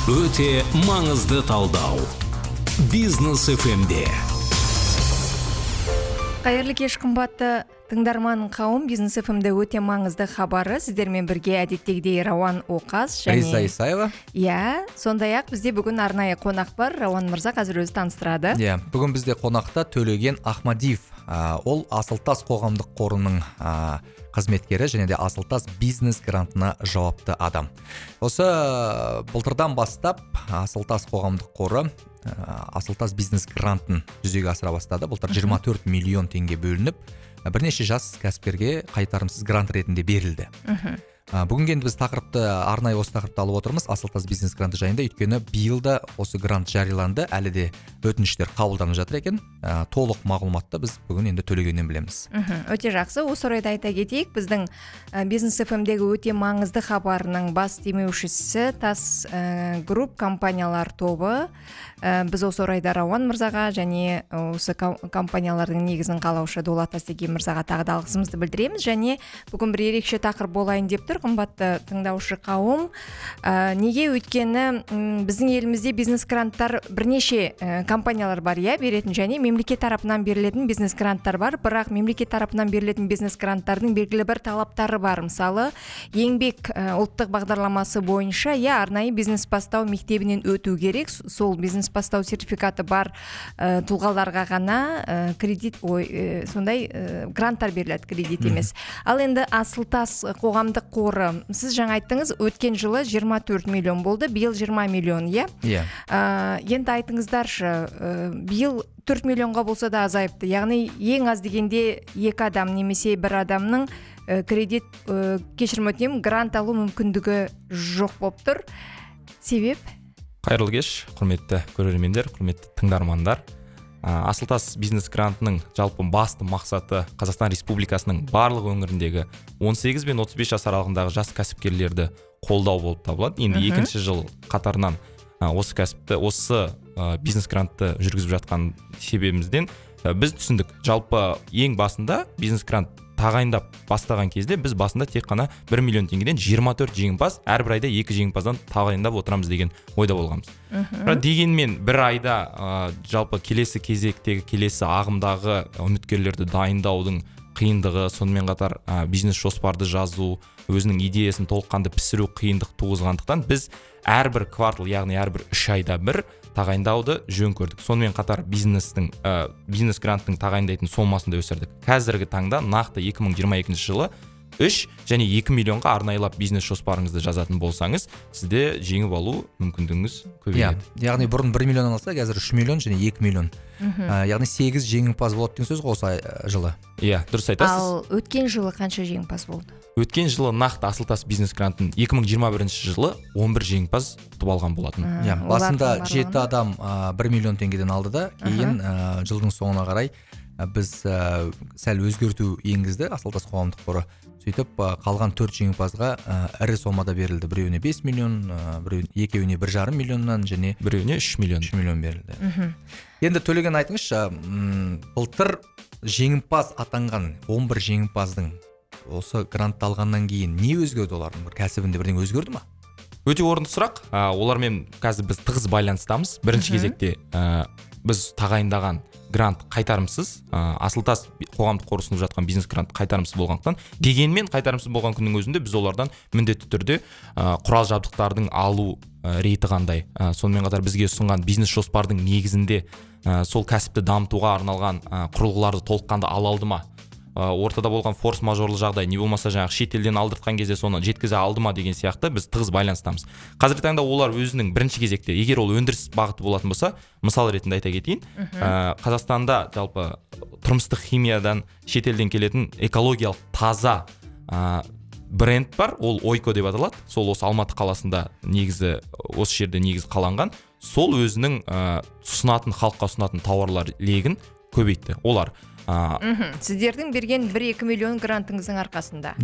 Өте маңызды талдау. Бизнес FM-де. Қайырлы кеш қымбатты тыңдарман қауым, Бизнес FM-де өте маңызды хабары. Сіздермен бірге әдеттегідей Рауан Оқас және Риза Исаева. Сондай-ақ бізде бүгін арнайы қонақ бар. Рауан мырза қазір өзі таныстырады. Бүгін бізде қонақта Төлеген Ахмадиев. Ол Асылтас қоғамдық қорының қызметкері және де Асылтас бизнес грантына жауапты адам. Осы былтырдан бастап Асылтас қоғамдық қоры Асылтас бизнес грантын жүзеге асыра бастады. Былтыр 24 миллион теңге бөлініп, бірнеше жас кәсіпкерге қайтарымсыз грант ретінде берілді. Бүгінгі енді біз тақырыпты арнайы осы тақырыпты алып отырмыз, Асылтас бизнес гранты жайында. Өйткені биылда осы грант жарияланды, әлі де өтініштер қабылданып жатыр екен. Толық мағлұматты біз бүгін енді Төлегеннен білеміз. Өте жақсы. Осы орайда айта кетейік, біздің Бизнес FM-дегі өте маңызды хабарының бас демеушісі Тас Групп компаниялар тобы. Біз осы орайда Рауан мырзаға және осы компаниялардың негізін қалаушы Дулат Тастеги мырзаға тағы да алғысымызды білдіреміз. Және бүгін бір ерекше тақырып болайын деп тұр, қымбатты тыңдаушы қауым. Неге? Өйткені біздің елімізде бизнес гранттар бірнеше компаниялар бар, беретін, және мемлекет тарапынан берілетін бизнес гранттар бар. Бірақ мемлекет тарапынан берілетін бизнес гранттардың белгілі бір талаптары бар. Мысалы, еңбек ұлттық бағдарламасы бойынша арнайы бизнес бастау мектебінен өту керек. Сол бизнес бастау сертификаты бар тұлғаларға ғана сондай гранттар беріледі, кредит емес. Ал енді Асылтас қоғамдық қоры, сіз жаңа айттыңыз, өткен жылы 24 миллион болды, биыл 20 миллион, енді айтыңыздаршы, биыл 4 миллионға болса да азайыпты. Яғни ең аз дегенде 2 адам немесе 1 адамның кредит грант алу мүмкіндігі жоқ болып тұр. Себеп? Қайырлы кеш, құрметті көрермендер, құрметті тыңдармандар. Асылтас бизнес грантының жалпы басты мақсаты Қазақстан Республикасының барлық өңіріндегі 18 бен 35 жас аралығындағы жас кәсіпкерлерді қолдау болып табылады. Енді екінші жыл қатарынан осы бизнес грантты жүргізіп жатқан себебімізден біз түсіндік. Жалпы ең басында бизнес грант тағайындап бастаған кезде біз басында тек қана 1 миллион теңгеден 24 жеңімпаз, әрбір айда 2 жеңімпаздан тағайындап отырамыз деген ойда болғанбыз. Дегенмен бір айда жалпы келесі кезектегі, келесі ағымдағы үміткерлерді дайындаудың қиындығы, сонымен қатар бизнес жоспарды жазу, өзінің идеясын толыққанды пісіру қиындық туғызғандықтан біз әрбір квартал, яғни әрбір 3 айда бір тағайындауды жөн көрдік. Сонымен қатар бизнес гранттың тағайындайтын сомасын да өсірдік. Қазіргі таңда нақты 2022 жылы 3 және 2 миллионға арнайлап бизнес жоспарыңызды жазатын болсаңыз, сізде жеңіп алу мүмкіндігіңіз көбейеді. Яғни бұрын 1 миллион алса, қазір 3 миллион және 2 миллион. Яғни 8 жеңімпаз болады деген сөз ғой осы жылы. Дұрыс айтасыз. Ал өткен жылы қанша жеңімпаз болды? Өткен жылы нақты Асылтас бизнес грантын 2021 жылы 11 жеңімпаз ұтып алған болатын. Басында 7 адам 1 миллион теңгеден алды да, кейін жылдың соңына қарай біз сәл өзгерту енгізді Асылтас қоғамдық қоры. Сөйтіп қалған 4 жеңімпазға ірі сомада берілді. Біреуіне 5 миллион, екеуіне 1,5 миллионнан және біреуіне 3 миллион берілді. Енді Төлеген айтыңызшы, былтыр жеңімпаз атанған 11 жеңімпаздың осы грантты алғаннан кейін не өзгерді, олардың бір кәсібінде бірдеңе өзгерді ма? Өте орынды сұрақ. Олармен қазір біз тығыз байланыстамыз. Бірінші кезекте біз тағайындаған грант қайтарымсыз. Асылтас қоғамдық қоры ұсынып жатқан бизнес грант қайтарымсыз болғандықтан, дегенмен қайтарымсыз болған күннің өзінде біз олардан міндетті түрде құрал жабдықтардың алу реті қандай, сонымен қатар бізге ұсынған бизнес жоспардың негізінде сол кәсіпті дамытуға арналған құрылғыларды толыққанды ала алды ма? Ортада болған форс-мажорлы жағдай, не болмаса жаңағы шетелден алдыртқан кезде соны жеткізе алды ма деген сияқты біз тығыз байланыстамыз. Қазіргі таңда олар өзінің бірінші кезекте, егер ол өндіріс бағыты болатын болса, мысал ретінде айта кетейін, Қазақстанда жалпы тұрмыстық химиядан шетелден келетін экологиялық таза бренд бар, ол Ойко деп аталады. Сол осы Алматы қаласында негізі, осы жерде негізі қаланған. Сол өзінің халыққа ұсынатын тауарлар легін көбейтті. Олар сіздердің берген 1-2 миллион грантыңыздың арқасында.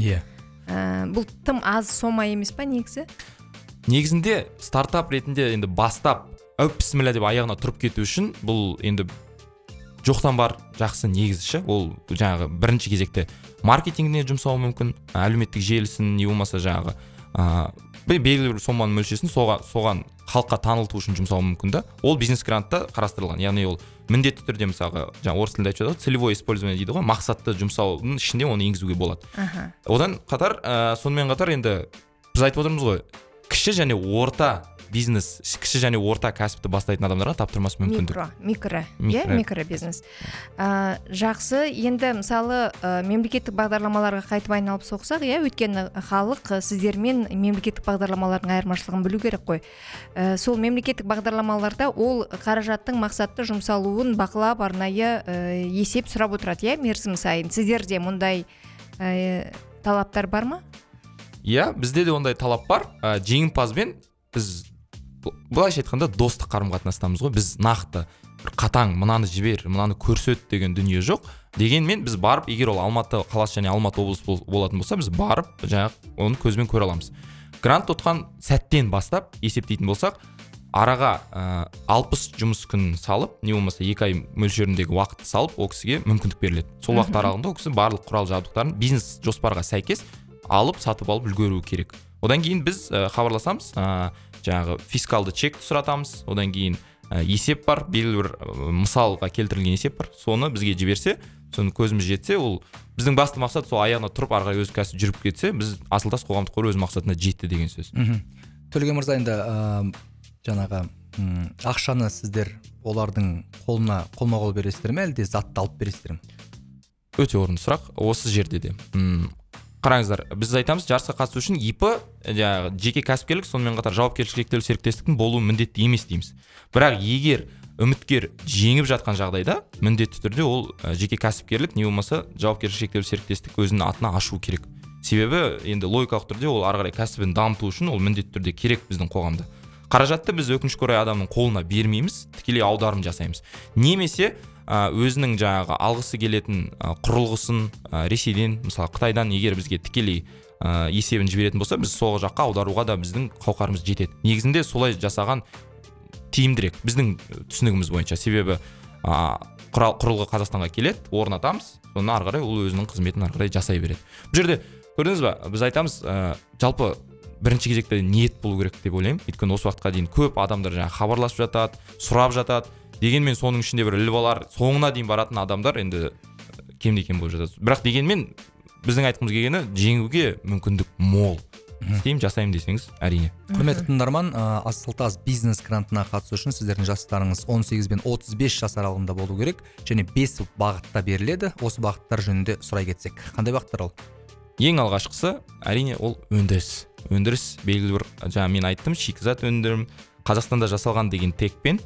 Бұл тым аз сома емес па негізі? Негізінде стартап ретінде енді бастап бісміллә деп аяғына тұрып кету үшін бұл енді жоқтан бар жақсы негізші. Ол жаңағы бірінші кезекте маркетингіне жұмсауы мүмкін, әлеуметтік желісін, не болмаса жаңағы белгілі бір соманың мөлшерін соған халыққа танылту үшін жұмсауы мүмкін да. Ол бизнес грантта қарастырылған. Яғни ол міндетті түрде мысалға жаңа орыс тілінде айтып жатады, целевое использование дейді ғой, мақсатты жұмсаудың ішінде оны енгізуге болады. Одан қатар сонымен қатар енді біз айтып отырмыз ғой, кіші және орта бизнес, кіші және орта кәсіпті бастайтын адамдарға таптырмас мүмкіндік. Микро бизнес. Жақсы, енді мысалы мемлекеттік бағдарламаларға қайтып айналып соқсақ, өйткені халық сіздермен мемлекеттік бағдарламалардың айырмашылығын білу керек қой. Сол мемлекеттік бағдарламаларда ол қаражаттың мақсатты жұмсалуын бақылап, арнайы есеп сұрап отырады, мерзім сайын. Сіздерде мұндай талаптар бар ма? Бізде де ондай талап бар. Жеңімпазбен біз былайша айтқанда достық қарым-қатынастамыз ғой. Біз нақты қатаң мынаны жібер, мынаны көрсет деген дүние жоқ. Дегенмен біз барып, егер ол Алматы қаласы және Алматы облысы болатын болса, біз барып жаңағы оны көзбен көре аламыз. Грант ұтқан сәттен бастап есептейтін болсақ, араға 60 жұмыс күнін салып, не болмаса 2 ай мөлшеріндегі уақытты салып, ол кісіге мүмкіндік беріледі. Сол уақыт аралығында ол кісі барлық құрал жабдықтарын бизнес жоспарға сәйкес алып, сатып алып үлгеруі керек. Одан кейін біз хабарласамыз, жаңағы фискалды чекті сұратамыз. Одан кейін есеп бар, белгілі бір мысалға келтірілген есеп бар. Соны бізге жіберсе, соны көзіміз жетсе, ол біздің басты мақсат сол аяғына тұрып, ары қарай өз кәсіп жүріп кетсе, біз Асылтас қоғамдық қоры өз мақсатына жетті деген сөз. Төлеген мырза, енді жаңағы ақшаны сіздер олардың қолына қолма-қол бересіздер ме, әлде затты алып бересіздер ме? Өте орынды сұрақ. Осы жерде де қараңыздар, біз айтамыз, жарысқа қатысу үшін ИП, жеке кәсіпкерлік, сонымен қатар жауапкершілігі шектеулі серіктестіктің болуы міндетті емес дейміз. Бірақ егер үміткер жеңіп жатқан жағдайда, міндетті түрде ол жеке кәсіпкерлік, не болмаса жауапкершілігі шектеулі серіктестік өзінің атына ашу керек. Себебі енді логикалық түрде ол ары қарай кәсібін дамыту үшін ол міндетті түрде керек біздің қоғамда. Қаражатты біз өкінішке орай адамның қолына бермейміз, тікелей аударым жасаймыз. Немесе өзінің жаңағы алғысы келетін құрылғысын Ресейден, мысалы Қытайдан егер бізге тікелей есебін жіберетін болса, біз сол жаққа аударуға да біздің қауқарымыз жетеді. Негізінде солай жасаған тиімдірек біздің түсінігіміз бойынша. Себебі құрылғы Қазақстанға келеді, орнатамыз, соны ары қарай ол өзінің қызметін ары қарай жасай береді. Бұл жерде көрдіңіз ба, біз айтамыз, жалпы бірінші кезекте ниет болу керек деп ойлаймын. Өйткені осы уақытқа дейін көп адамдар жаңағы хабарласып жатады, сұрап жатады. Дегенмен соның ішінде бір ілбалар, соңына дейін баратын адамдар енді кем-де-кем болып жатады. Бірақ дегенмен біздің айтқымыз келгені жеңуге мүмкіндік мол. Істеймін, жасаймын десеңіз, әрине. Құрметті тыңдарман, Асылтас бизнес грантына қатысу үшін сіздердің жастарыңыз 18 бен 35 жас аралығында болу керек, және 5 бағытта беріледі. Осы бағыттар жөнінде сұрай кетсек, қандай бағыттар ол? Ең алғашқысы әрине ол өндіріс. Өндіріс белгілі бір, жаңа мен айттым, шикізат өндірім, Қазақстанда жасалған деген текпен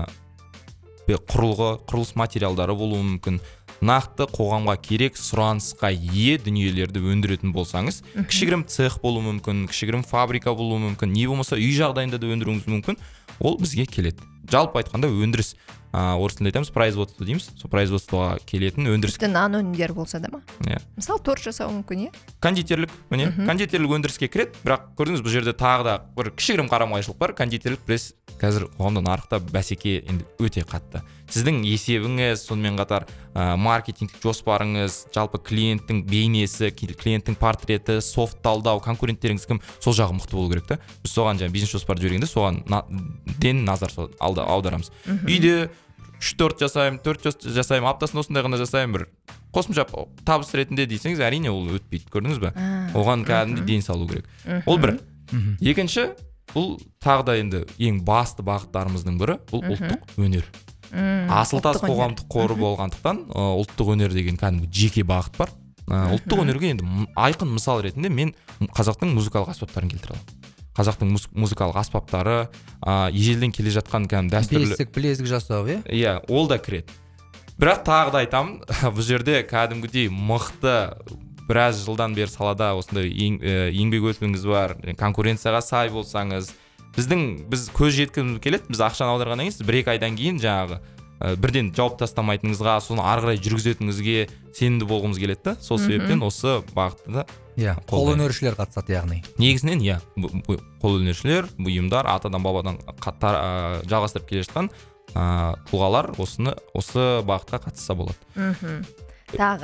құрылыс материалдары болуы мүмкін. Нақты қоғамға керек сұранысқа ие дүниелерді өндіретін болсаңыз, кішігірім цех болуы мүмкін, кішігірім фабрика болуы мүмкін, не болмаса үй жағдайында да өндіруіңіз мүмкін, ол бізге келеді. Жалпы айтқанда өндіріс, орыс тілінде айтамыз, производство дейміз. Сол производствоға келетін өндіріс. Нан өнімдер болса да ма? Мысалы торт жасау мүмкін, кондитерлік, кондитерлік өндіріске кіреді, бірақ көрдіңіз, бұл жерде тағы да бір кішігірім қарама-қайшылық бар. Кондитерлік пресс қазір қоғамда нарықта бәсеке енді өте қатты. Сіздің есебіңіз, сонымен қатар маркетингтік жоспарыңыз, жалпы клиенттің бейнесі, клиенттің портреті, софт талдау, конкуренттеріңіз кім, сол жағы мықты болу керек та. Біз соған жаңа бизнес жоспарды жібергенде соған ден назар аударамыз. Үйде 3-4 жасаймын, 4 жасаймын, аптасында осындай ғана жасаймын, бір қосымша табыс ретінде дейсеңіз, әрине ол өтпейді, көрдіңіз бе? Оған кәдімгі ден салу керек. Ол бір. Екінші, бұл тағы да енді ең басты бағыттарымыздың бірі, бұл ұлттық өнер. Асылтас қоғамдық қоры болғандықтан ұлттық өнер деген кәдімгі жеке бағыт бар. Ұлттық өнерге енді айқын мысал ретінде мен қазақтың музыкалық аспаптарын келтіре аламын. Қазақтың музыкалық аспаптары, ежелден келе жатқан кәдімгі дәстүрлі бесік, білезік жасау, иә, ол да кіреді. Бірақ тағы да айтамын, бұл жерде кәдімгідей мықты біраз жылдан бері салада осындай еңбек өтіліңіз бар, конкуренцияға сай болсаңыз, біз көз жеткізгіміз келеді, біз ақшаны аударғаннан кейін 1-2 айдан кейін жаңағы бірден жауап тастамайтыныңызға, соны ары қарай жүргізетініңізге сенімді болғымыз келеді да. Сол себептен осы бағытта да қолөнершілер қатысады, яғни. Негізінен қолөнершілер, бұйымдар, атадан бабадан жалғастырып келе жатқан тұлғалар осы бағытқа қатысса болады. Тағы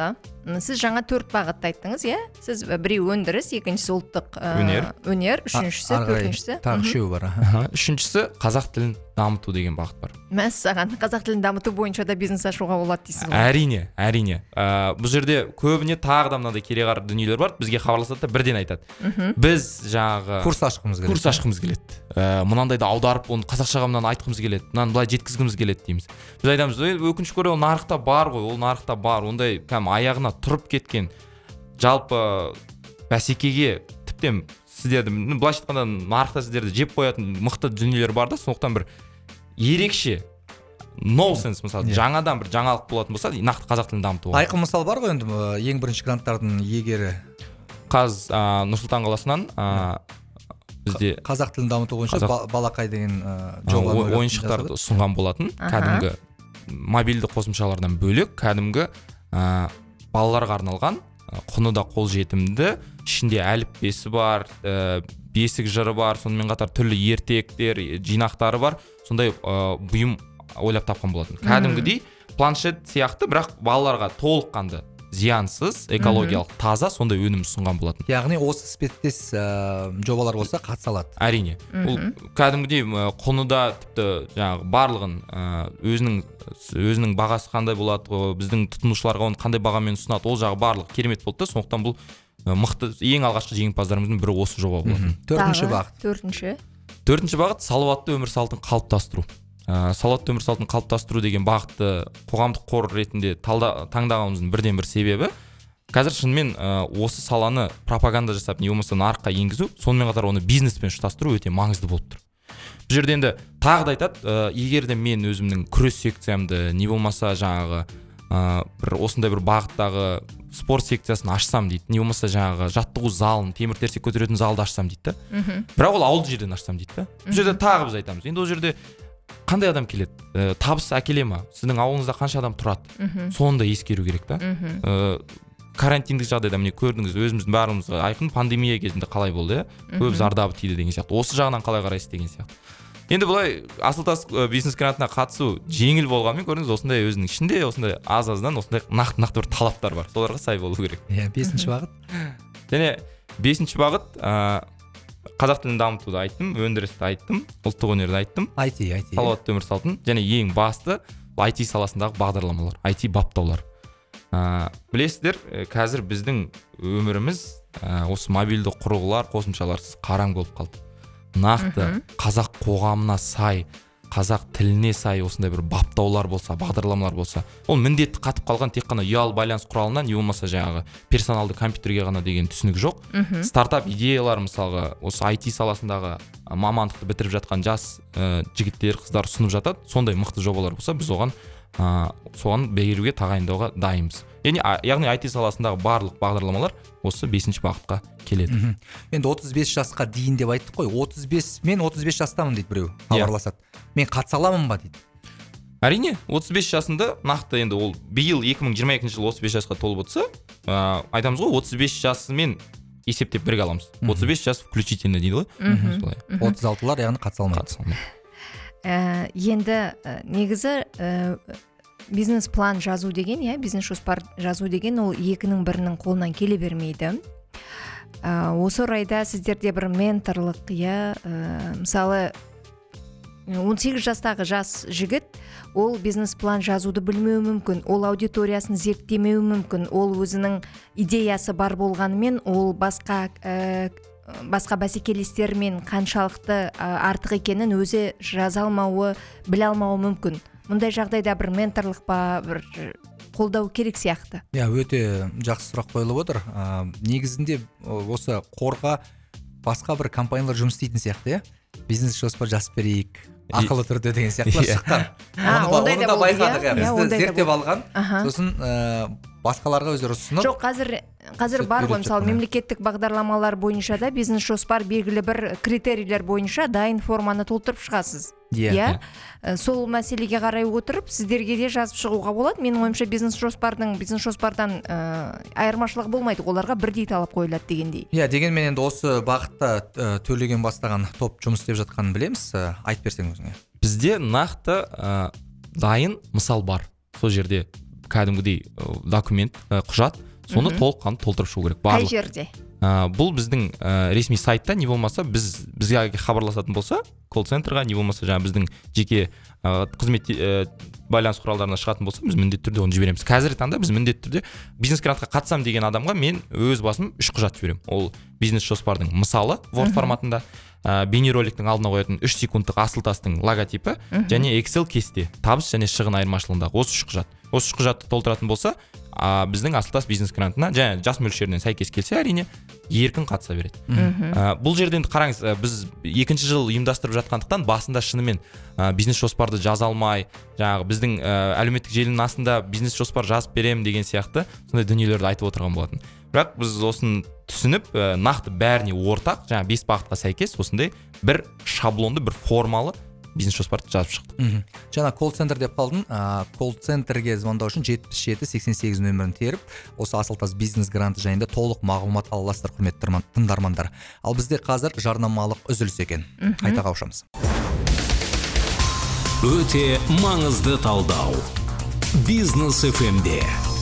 сіз жаңа 4 бағытты айттыңыз, иә? Сіз біреу өндіріс, екіншісі ұлттық өнер, үшіншісі, төртіншісі. Тағы үшеуі бар. Үшіншісі қазақ тілін дамыту деген бағыт бар. Мәссаған, қазақ тілін дамыту бойынша да бизнес ашуға болады дейсіз ғой? Әрине. Бұл жерде көбіне тағы да мынадай кереғар дүниелер бар. Бізге хабарласады да бірден айтады. Біз жаңағы курс ашқымыз келеді. Мынандайды аударып, оны қазақшаға мынаны айтқымыз келеді. Мынаны былай жеткізгіміз келеді дейміз. Біз айтамыз, өкінішке орай ол нарықта бар ғой, ол нарықта бар. Ондай аяғына тұрып кеткен жалпы бәсекеге тіптен сіздерді, былайша айтқанда нарықта сіздерді жеп қоятын мықты дүниелер бар да, сондықтан бір ерекше ноусенс, мысалы жаңадан бір жаңалық болатын болса, нақты қазақ тілін дамытуға. Айқын мысал бар ғой енді, ең бірінші гранттардың иегері Нұр-Сұлтан қаласынан бізде қазақ тілін дамыту бойынша балақай деген ойыншықтарды ұсынған болатын. Кәдімгі мобильді қосымшалардан бөлек, кәдімгі балаларға арналған, құны да қолжетімді, ішінде әліппесі бар, бесік жыры бар, сонымен қатар түрлі ертектер, жинақтары бар, сондай бұйым ойлап тапқан болатын. Кәдімгідей планшет сияқты, бірақ балаларға толыққанды зиянсыз, экологиялық таза сондай өнім ұсынған болатын. Яғни осы іспеттес жобалар болса қатыса алады. Әрине. Ол кәдімгідей құны да тіпті жаңағы барлығын өзінің бағасы қандай болады, біздің тұтынушыларға оны қандай бағамен ұсынады, ол жағы барлығы керемет болды да, сондықтан бұл мықты ең алғашқы жеңімпаздарымыздың бірі осы жоба болатын. Төртінші бағыт салауатты өмір салтын қалыптастыру. Салауатты өмір салтын қалыптастыру деген бағытты қоғамдық қор ретінде таңдағанымыздың бірден бір себебі, қазір шынымен осы саланы пропаганда жасап, не болмаса нарыққа енгізу, сонымен қатар оны бизнеспен ұштастыру өте маңызды болып тұр. Бұл жерде енді тағы да айтады, егер де мен өзімнің күрес секциямды, не болмаса жаңағы бір осындай бір бағыттағы спорт секциясын ашсам дейді, не болмаса жаңағы жаттығу залын, темір терсек көтеретін залды ашсам дейді да. Бірақ ол ауылды жерден ашсам дейді да. Бұл жерде тағы біз айтамыз. Енді ол жерде қандай адам келеді? Табыс әкеле ма? Сіздің ауылыңызда қанша адам тұрады? Соны да ескеру керек та. Карантиндік жағдайда міне көрдіңіз, өзіміздің бәрімізге айқын пандемия кезінде қалай болды, көп зардабы тиді деген сияқты. Осы жағынан қалай қарайсыз деген сияқты. Енді бұлай Асылтас бизнес грантына қатысу жеңіл болғанмен көрдіңіз, осындай өзінің ішінде осындай аз-аздан осындай нақты бір талаптар бар. Соларға сай болу керек. Иә, 5-ші бағыт. Және 5-ші бағыт қазақ тілін дамытуды айттым, өндірісті айттым, ұлттық өнерді айттым, IT. Салауатты өмір салтын, және ең басты IT саласындағы бағдарламалар, IT баптаулар. Білесіздер, қазір біздің өміріміз осы мобильді құрылғылар, қосымшаларсыз қараң болып қалды. Нақты қазақ қоғамына сай, қазақ тіліне сай осындай бір баптаулар болса, бағдарламалар болса, ол міндетті қатып қалған тек қана ұялы байланыс құралынан, не болмаса жаңағы персоналды компьютерге ғана деген түсінік жоқ. Стартап идеялар мысалға осы IT саласындағы мамандықты бітіріп жатқан жас жігіттер, қыздар ұсынып жатады. Сондай мықты жобалар болса, біз соған беруге тағайындауға дайынбыз. Яғни IT саласындағы барлық бағдарламалар осы 5-ші бағытқа келеді. Енді 35 жасқа дейін деп айттық қой. Мен 35 жастамын дейді біреу, хабарласады. Мен қатыса аламын ба дейді. Әрине, 35 жасында нақты енді ол биыл 2022 жылы 35 жасқа толып отырса, айтамыз ғой, 35 жасымен есептеп бірге аламыз. 35 жас включительно дейді ғой. 36-лар яғни қатыса алмайды. Енді негізі бизнес план жазу деген, бизнес жоспар жазу деген ол екінің бірінің қолынан келе бермейді. Осы орайда сіздерде бір менторлық, мысалы 18 жастағы жас жігіт, ол бизнес план жазуды білмеуі мүмкін, ол аудиториясын зерттемеуі мүмкін, ол өзінің идеясы бар болғанымен, ол басқа бәсекелестермен қаншалықты артық екенін өзі жаза алмауы, біле алмауы мүмкін. Мұндай жағдайда бір менторлық па, бір қолдау керек сияқты. Өте жақсы сұрақ қойылып отыр. Негізінде осы қорға басқа бір компаниялар жұмыс істейтін сияқты, бизнес жоспар жазып берейік, ақылы түрде деген сияқты шыққан. Оны да байқадық, бізді зерттеп алған. Сосын басқаларға өздері ұсынып. Жоқ, қазір бар ғой, мысалы мемлекеттік бағдарламалар бойынша да бизнес жоспар белгілі бір критерийлер бойынша дайын форманы толтырып шығасыз. Сол мәселеге қарай отырып сіздерге де жазып шығуға болады. Менің ойымша бизнес жоспардан айырмашылығы болмайды, оларға бірдей талап қойылады дегендей. Дегенмен енді осы бағытта Төлеген бастаған топ жұмыс істеп жатқанын білеміз. Айтып берсең өзіңе. Бізде нақты дайын мысал бар. Сол жерде кәдімгідей документ, құжат, соны толыққанды толтырып шығу керек қай барлық. жерде? Бұл біздің ресми сайтта, не болмаса бізге хабарласатын болса колл-центрға, не болмаса жаңа біздің жеке қызмет байланыс құралдарына шығатын болса, біз міндетті түрде оны жібереміз. Қазіргі таңда біз міндетті түрде бизнес грантқа қатысам деген адамға мен өз басым 3 құжат жіберемін. Ол бизнес жоспардың мысалы Word форматында, бейнероликтің алдына қоятын 3 секундтық асыл-тастың логотипі және Excel кесте, табыс және шығын айырмашылығындағы осы 3 құжат. Осы 3 құжатты толтыратын болса, біздің асыл-тас бизнес грантына және жас мөлшерінен сәйкес келсе, әрине еркін қатыса береді. Бұл жерде енді қараңыз, біз 2-ші жыл ұйымдастырып жатқандықтан басында шынымен бизнес жоспарды жаза алмай, жаңағы біздің әлеуметтік желінің астында бизнес жоспар жазып беремін деген сияқты сондай дүниелерді айтып отырған болатын. Бірақ біз осын түсініп, нақты бәріне ортақ, жаңағы 5 бағытқа сәйкес осындай бір шаблонды, бір формалы бизнес жоспарды жазып шықтық. Жаңа колл-центр деп қалдың, колл-центрге звондау үшін 77-88 нөмірін теріп, осы асыл-тас бизнес гранты жайында толық мағлұмат ала аласыздар, құрметті тыңдармандар. Ал бізде қазір жарнамалық үзіліс екен. Қайта қауышамыз. Өте маңызды талдау. Бизнес FM-де.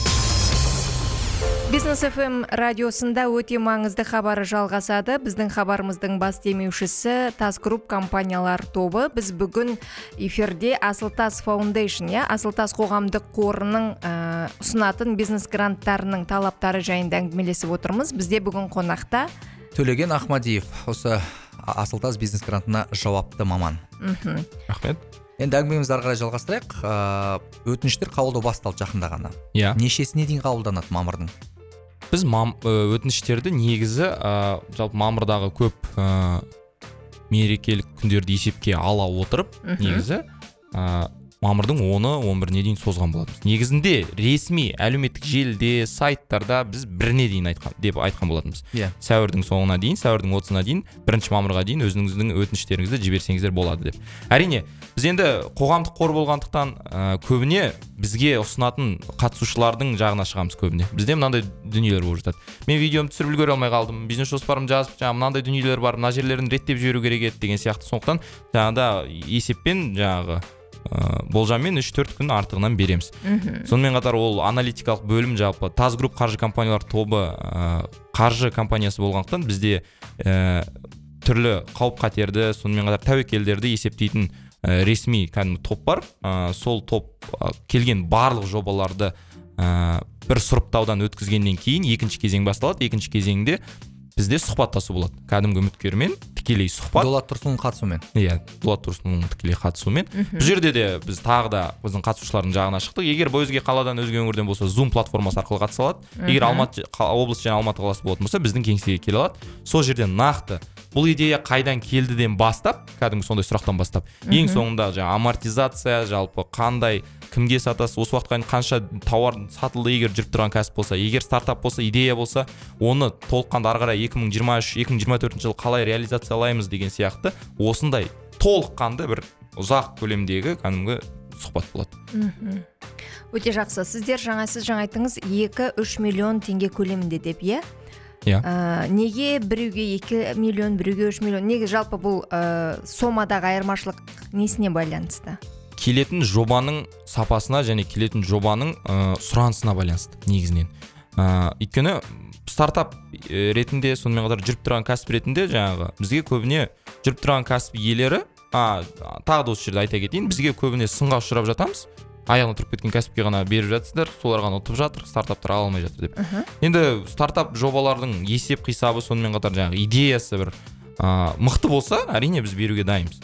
Бизнес FM радиосында өте маңызды хабары жалғасады. Біздің хабарымыздың бас демеушісі Тас Груп компаниялар тобы. Біз бүгін эфирде Асыл-тас Foundation, Асыл-тас қоғамдық қорының ұсынатын бизнес гранттарының талаптары жайында әңгімелесіп отырмыз. Бізде бүгін қонақта Төлеген Ахмадиев, осы Асыл-тас бизнес грантына жауапты маман. Рахмет. Енді әңгімемізді ары қарай жалғастырайық. Өтініштер қабылдау басталды жақында ғана. Нешесіне дейін қабылданады мамырдың? Біз өтініштерді негізі жалпы мамырдағы көп мерекелік күндерді есепке ала отырып, негізі мамырдың 10-11-не дейін созған болатымыз. Негізінде ресми әлеуметтік желіде, сайттарда біз 1-не дейін айтқан болатымыз. Сәуірдің соңына дейін, сәуірдің 30-на дейін, 1 мамырға дейін өзіңіздің өтініштеріңізді жіберсеңіздер болады деп. Әрине, біз енді қоғамдық қор болғандықтан көбіне бізге ұсынатын қатысушылардың жағына шығамыз көбіне. Бізде мынандай дүниелер болып жатады. Мен видеомды түсіріп үлгере алмай қалдым, бизнес жоспарымды жазып, мынандай дүниелер бар, мына жерлерін реттеп жіберу керек еді деген сияқты. Сондықтан жаңағыда есеппен жаңағы болжаммен 3-4 күн артығынан береміз. Сонымен қатар ол аналитикалық бөлім жалпы Тас Груп қаржы компаниялар тобы қаржы компаниясы болғандықтан бізде түрлі қауіп-қатерді, сонымен қатар тәуекелдерді есептейтін ресми кәдімгі топ бар. Сол топ келген барлық жобаларды бір сұрыптаудан өткізгеннен кейін екінші кезең басталады. Екінші кезеңде бізде сұхбаттасу болады. Кәдімгі үміткермен тікелей сұхбат. Дулат Тұрсынның қатысуымен. Дулат Тұрсынның тікелей қатысуымен. Бұл жерде де біз тағы да біздің қатысушылардың жағына шықтық. Егер өзге қаладан, өзге өңірден болса, Zoom платформасы арқылы қатыса алады. Егер Алматы облысы және Алматы қаласы болатын болса, біздің кеңсеге келе алады. Сол жерден нақты бұл идея қайдан келдіден бастап, кәдімгі сондай сұрақтан бастап, ең соңында жаңа амортизация, жалпы қандай, кімге сатасыз, осы уақытқа дейін қанша тауар сатылды, егер жүріп тұрған кәсіп болса, егер стартап болса, идея болса, оны толыққанды ары қарай 2023-2024 жылы қалай реализациялаймыз деген сияқты осындай толыққанды бір ұзақ көлемдегі кәдімгі сұхбат болады. Өте жақсы. Сіз жаңа айттыңыз 2-3 миллион теңге көлемінде деп, неге біреуге 2 миллион, біреуге 3 миллион? Неге жалпы бұл сомадағы айырмашылық несіне байланысты? Келетін жобаның сапасына және келетін жобаның сұранысына байланысты негізінен. Өйткені стартап ретінде, сонымен қатар жүріп тұрған кәсіп ретінде жаңағы бізге көбіне жүріп тұрған кәсіп иелері, тағы да осы жерде айта кетейін, бізге көбіне сынға ұшырап жатамыз. Аяғына тұрып кеткен кәсіпке ғана беріп жатсыздар, солар ғана ұтып жатыр, стартаптар ала алмай жатыр деп. Енді стартап жобалардың есеп қисабы, сонымен қатар жаңағы идеясы бір мықты болса, әрине біз беруге дайынбыз.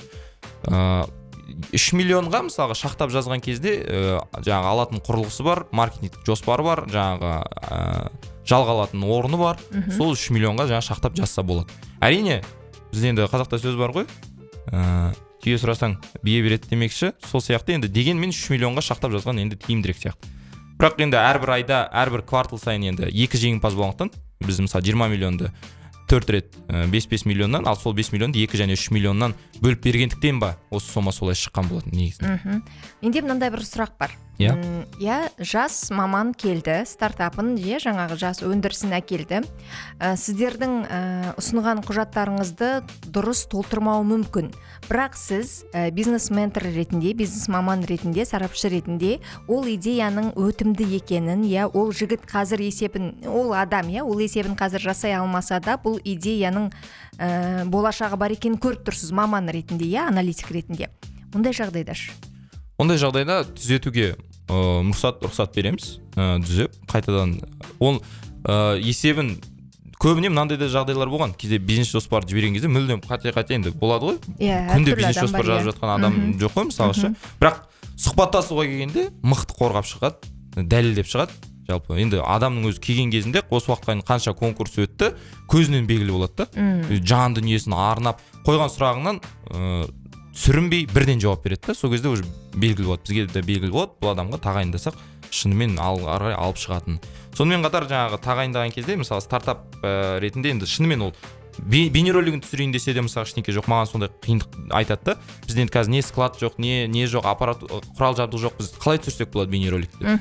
3 миллионға мысалға шақтап жазған кезде жаңағы алатын құрылғысы бар, маркетингтік жоспары бар, жаңағы жалға алатын орны бар. Сол 3 миллионға жаңағы шақтап жазса болады. Әрине, бізде енді қазақта сөз бар ғой, түйе сұрасаң бие береді демекші. Сол сияқты енді дегенмен 3 миллионға шақтап жазған енді тиімдірек сияқты. Бірақ енді әрбір айда, әрбір квартал сайын енді 2 жеңімпаз болғандықтан біз мысалы 20 миллионды 4 рет 5 миллионнан, ал сол 5 миллионды 2 және 3 миллионнан бөліп бергендіктен ба осы сома солай шыққан болатын негізінде. Менде мынандай бір сұрақ бар. Иә, жас маман келді, стартапын, жаңағы жас өндірісін әкелді. Сіздердің ұсынған құжаттарыңызды дұрыс толтырмауы мүмкін. Бірақ сіз бизнес-ментор ретінде, бизнес-маман ретінде, сарапшы ретінде ол идеяның өтімді екенін, ол жігіт қазір есебін, ол адам, ол есебін қазір жасай алмаса да, бұл идеяның болашағы бар екенін көріп тұрсыз маман ретінде, аналитик ретінде. Мұндай жағдайда Ондай жағдайда түзетуге рұқсат береміз, түзеп қайтадан ол есебін көбіне мынандай да жағдайлар болған. Кейде бизнес жоспар жіберген кезде мүлдем қате енді болады ғой. Күнде бизнес жоспар жазып жатқан адам жоқ қой мысалға. Бірақ сұхбаттасуға келгенде мықты қорғап шығады, дәлелдеп шығады. Жалпы енді адамның өзі келген кезінде осы уақытқа дейін қанша конкурс өтті, көзінен белгілі болады да. Жан дүниесін арнап қойған сұрағынан сүрінбей бірден жауап береді да. Сол кезде уже белгілі болады, бізге де белгілі болады, бұл адамға тағайындасақ шынымен арай алып шығатын. Сонымен қатар жаңағы тағайындаған кезде мысалы стартап ретінде енді шынымен ол бейнеролигін түсірейін десе де мысалы ештеңке жоқ, маған сондай қиындық айтады да. Бізде енді қазір не склад жоқ, не жоқ, аппарат құрал жабдық жоқ, біз қалай түсірсек болады бейнероликті?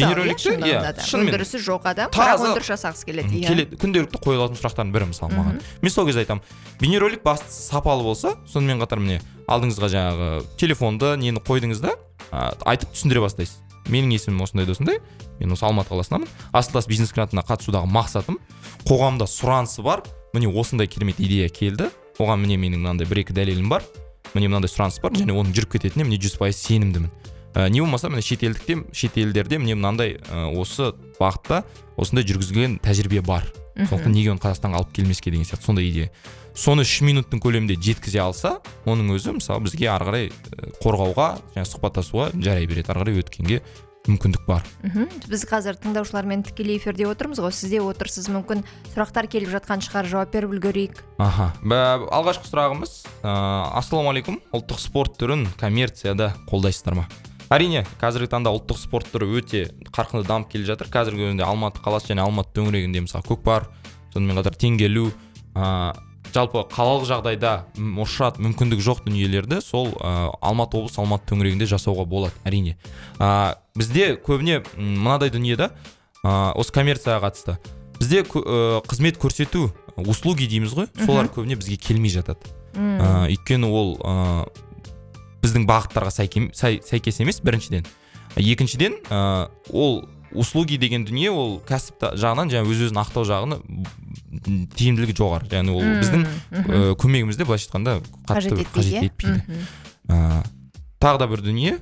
Мысалы, өндірісі жоқ адам, бірақ өндіріс жасағысы келеді. Күнделікті қойылатын сұрақтардың бірі мысалы маған. Мен сол кезде айтамын, бейнеролик бастысы сапалы болса, сонымен қатар міне алдыңызға жаңағы телефонды нені қойдыңыз да, айтып түсіндіре бастайсыз. Менің есімім осындай, мен осы Алматы қаласынамын. Асылтас бизнес грантына қатысудағы мақсатым қоғамда сұранысы бар. Міне осындай керемет идея келді. Оған міне менің мынандай 1-2 дәлелім бар. Міне мынандай сұраныс бар, және оның жүріп кететініне міне 100% сенімдімін. Не болмаса міне шет елдерде міне мынандай осы бағытта осындай жүргізілген тәжірибе бар. Сондықтан неге оны Қазақстанға алып келмеске деген сияқты сондай идея. Соны 3 минуттың көлемінде жеткізе алса, оның өзі мысалы бізге ары қарай қорғауға, және сұхбаттасуға жарай береді. Ары қарай өткенге мүмкіндік бар. Біз қазір тыңдаушылармен тікелей эфирде отырмыз ғой, сізде отырсыз, мүмкін сұрақтар келіп жатқан шығар, жауап беріп үлгерейік. Алғашқы сұрағымыз, ассалаумағалейкум, ұлттық спорт түрін коммерцияда қолдайсыздар ма? Әрине, қазіргі таңда ұлттық спорт түрі өте қарқынды дамып келе жатыр. Қазіргі өзінде Алматы қаласы және Алматы төңірегінде мысалы көкпар, сонымен қатар теңге ілу, жалпы қалалық жағдайда мүмкіндік жоқ дүниелерді сол Алматы облысы, Алматы төңірегінде жасауға болады, әрине. Бізде көбіне мынадай дүниеде осы коммерцияға қатысты. Бізде қызмет көрсету, услуги дейміз ғой, солар көбіне бізге келмей жатады. Өйткені ол біздің бағыттарға сәйкес емес, біріншіден. Екіншіден, ол услуги деген дүние ол кәсіп жағынан жаңа өз-өзін ақтау жағына тиімділігі жоғары. Яғни ол біздің көмегімізде былайша айтқанда қатты қажет етпейді. Тағы да бір дүние,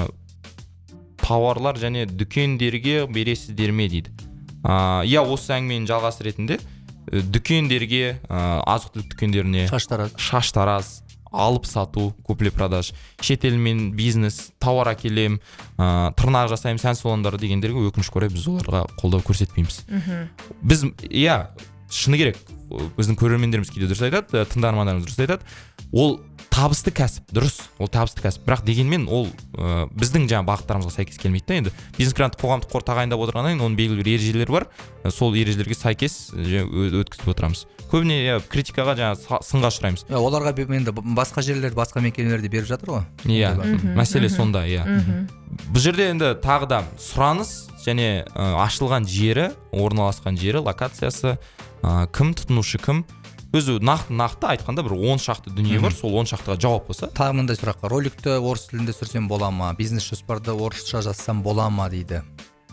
тауарлар және дүкендерге бересіздер ме дейді. Осы әңгіменің жалғасы ретінде дүкендерге, азық-түлік дүкендеріне шаштараз, алып сату, купли-продаж, шетелмен бизнес, тауар әкелем, тырнақ жасайым, сән салондары дегендерге өкінішке орай біз оларға қолдау көрсетпейміз. Біз, шыны керек, біздің көрермендеріміз кейде дұрыс айтады, тыңдармандарымыз дұрыс айтады. Ол табысты кәсіп, дұрыс, ол табысты кәсіп. Бірақ дегенмен ол біздің жаңа бағыттарымызға сәйкес келмейді да. Енді бизнес грант қоғамдық қор тағайындап отырғаннан кейін оның белгілі бір ережелері бар. Сол ережелерге сәйкес өткізіп отырамыз. Көбіне критикаға жаңа сынға ұшыраймыз. Оларға енді басқа жерлер, басқа мекемелерде беріп жатыр ғой. Мәселе сонда, Бұл жерде енді тағы да сұраныс және ашылған жері, орналасқан жері, локациясы, кім тұтынушы кім, өзі нақты айтқанда бір 10 шақты дүние бар, сол 10 шақтыға жауап болса. Тағы мындай сұраққа, роликті орыс тілінде түсірсем бола ма, бизнес жоспарды орысша жазсам бола ма дейді.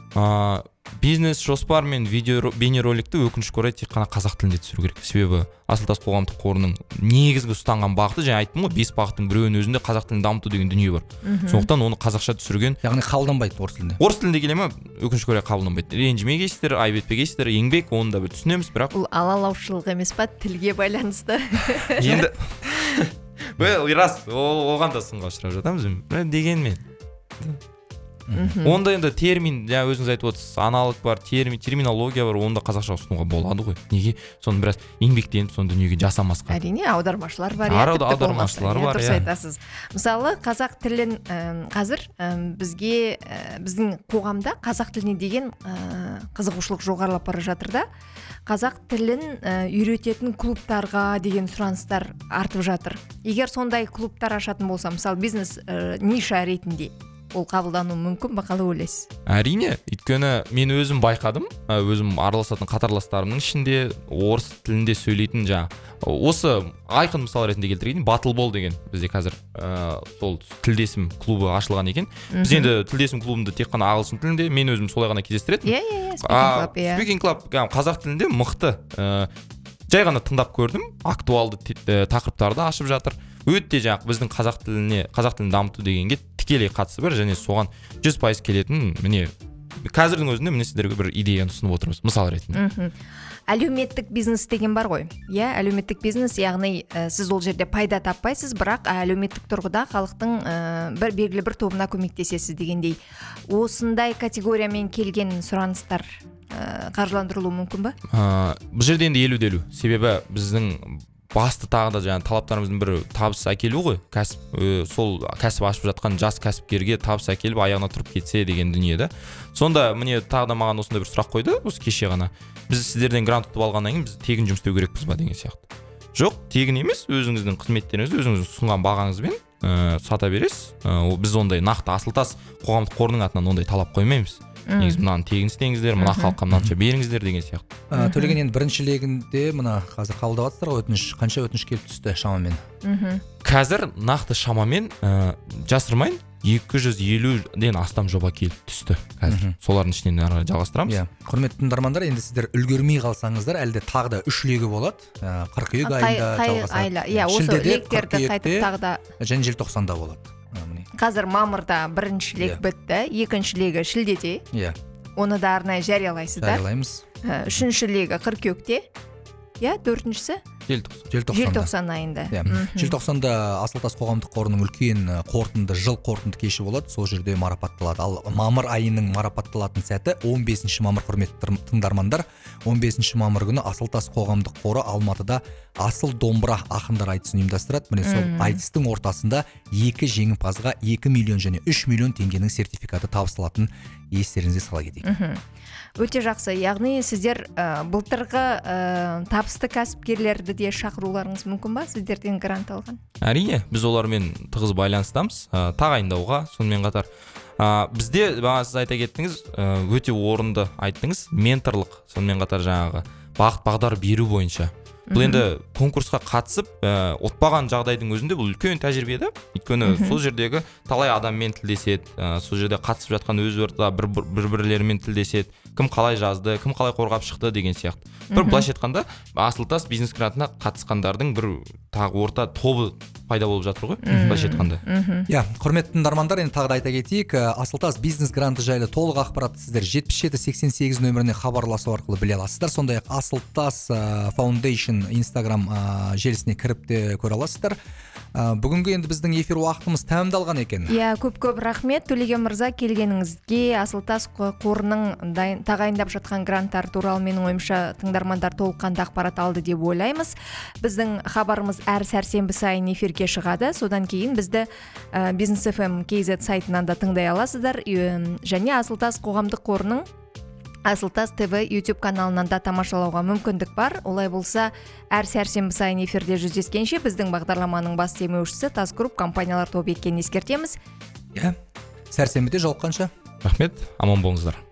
Бизнес жоспар мен бейнероликті өкінішке орай тек қана қазақ тілінде түсіру керек. Себебі Асылтас қоғамдық қорының негізгі ұстанған бағыты, жаңа айттым ғой, 5 бағыттың біреуінің өзінде қазақ тілін дамыту деген дүние бар. Сондықтан оны қазақша түсірген. Яғни қабылданбайды орыс тілінде. Орыс тілінде келе ма, өкінішке орай қабылданбайды. Ренжімегейсіздер, айып етпегейсіздер, еңбек, оны да бір түсінеміз, бірақ бұл алалаушылық емес па, тілге байланысты. Енді рас, оған да сынға ұшырап жатамыз, дегенмен. Онда енді термин, жаңа өзіңіз айтып отырсыз, аналог бар, терминология бар, онда қазақша ұсынуға болады ғой. Неге соны біраз еңбектеніп соны дүниеге жасамасқа? Әрине, аудармашылар бар, аудармашылар бар, дұрыс айтасыз. Мысалы, қазақ тілін қазір біздің қоғамда қазақ тіліне деген қызығушылық жоғарылап бара жатыр да. Қазақ тілін үйрететін клубтарға деген сұраныстар артып жатыр. Егер сондай клубтар ашатын болса, мысалы бизнес ниша ретінде, ол қабылдану мүмкін ба, қалай ойлайсыз? Әрине, өйткені мен өзім байқадым, өзім араласатын қатарластарымның ішінде орыс тілінде сөйлейтін осы айқын мысал ретінде келтірейін, Батылбол деген бізде қазір сол тілдесім клубы ашылған екен. Біз енді тілдесім клубында тек қана ағылшын тілінде, мен өзім солай ғана кездестіретінмін. Speaking Club қазақ тілінде мықты. Жай ғана тыңдап көрдім, актуалды тақырыптарды ашып жатыр. Өте біздің қазақ тілін дамыту дегенге тікелей қатысы бар, және соған 100% келетін, міне қазірдің өзінде міне сіздерге бір идеяны ұсынып отырмыз, мысал ретінде. Әлеуметтік бизнес деген бар ғой. Иә, әлеуметтік бизнес, яғни сіз ол жерде пайда таппайсыз, бірақ әлеуметтік тұрғыда халықтың бір белгілі бір тобына көмектесесіз дегендей. Осындай категориямен келген сұраныстар қаржыландырылуы мүмкін ба? Бұл жерде енді 50-50. Себебі біздің басты тағы да талаптарымыздың бірі табыс әкелу ғой. Сол кәсіп ашып жатқан жас кәсіпкерге табыс әкеліп аяғына тұрып кетсе деген дүние да. Сонда міне тағы да маған осындай бір сұрақ қойды, осы кеше ғана. Біз сіздерден грант ұтып алғаннан кейін біз тегін жұмыс істеу керекпіз ба деген сияқты. Жоқ, тегін емес, өзіңіздің қызметтеріңізді өзіңіздің ұсынған бағаңызбен сата бересіз. Біз ондай нақты Асылтас қоғамдық қорының атынан ондай талап қоймаймыз. Негізі мынаны тегін істеңіздер, мына халыққа мынанша беріңіздер деген сияқты. Төлеген енді бірінші легінде мына қазір қабылдап жатсыздар ғой, қанша өтініш келіп түсті шамамен? Қазір нақты шамамен жасырмайын, 250-ден астам жоба келіп түсті қазір. Солардың ішінен ары жалғастырамыз. Құрметті тыңдармандар, енді сіздер үлгермей қалсаңыздар, әлде тағы да 3 легі болады. Қыркүйек айында жалғасады. Осы лектерді қайтып тағы да және желтоқсанда болады. Қазір мамырда бірінші лек бітті, екінші легі шілдеде. Оны да арнайы жариялайсыздар. Жариялаймыз. Үшінші легі қыркүйекте. Төртіншісі желтоқсан айында. Желтоқсанда Асылтас қоғамдық қорының үлкен жыл қорытынды кеші болады. Сол жерде марапатталады. Ал мамыр айының марапатталатын сәті 15 мамыр, құрметті тыңдармандар. 15 мамыр күні Асылтас қоғамдық қоры Алматыда Асыл домбыра ақындар айтысын ұйымдастырады. Міне сол айтыстың ортасында 2 жеңімпазға 2 миллион және 3 миллион теңгенің сертификаты табысталатын естеріңізге сала кетейік. Өте жақсы. Яғни сіздер былтырғы табысты кәсіпкерлерді де шақыруларыңыз мүмкін ба? Сіздерден грант алған? Әрине, біз олармен тығыз байланыстамыз, тағайындауға. Сонымен қатар бізде бағана сіз айта кеттіңіз, өте орынды айттыңыз, менторлық, сонымен қатар жаңағы бағыт бағдар беру бойынша. Бұл енді конкурсқа қатысып ұтпаған жағдайдың өзінде бұл үлкен тәжірибе да. Өйткені сол жердегі талай адаммен тілдеседі, сол жерде қатысып жатқан өз ортада бір-бірлерімен тілдеседі. Кім қалай жазды, кім қалай қорғап шықты деген сияқты. Бір былайша айтқанда Асылтас бизнес грантына қатысқандардың бір тағы орта тобы пайда болып жатыр ғой, былайша айтқанда. Құрметті тыңдармандар, енді тағы да айта кетейік, Асылтас бизнес гранты жайлы толық ақпаратты сіздер 7788 нөміріне хабарласу арқылы біле аласыздар. Сондай-ақ Асылтас Foundation Instagram желісіне кіріп те көре аласыздар. Бүгінгі енді біздің эфир уақытымыз тәмамдалған екен. Көп рахмет Төлеген мырза, келгеніңізге. Асылтас қорының тағайындап жатқан гранттар туралы менің ойымша тыңдармандар толыққанды ақпарат алды деп ойлаймыз. Біздің хабарымыз әр сәрсенбі сайын эфирге шығады. Содан кейін бізді Business FM KZ сайтынан да тыңдай аласыздар. Және Асылтас қоғамдық қорының Асылтас ТВ YouTube каналынан да тамашалауға мүмкіндік бар. Олай болса, әр сәрсенбі сайын эфирде жүздескенше біздің бағдарламаның бас демеушісі Тас Групп компаниялар тобы екенін ескертеміз. Сәрсенбіде жолыққанша. Рахмет, аман болыңыздар.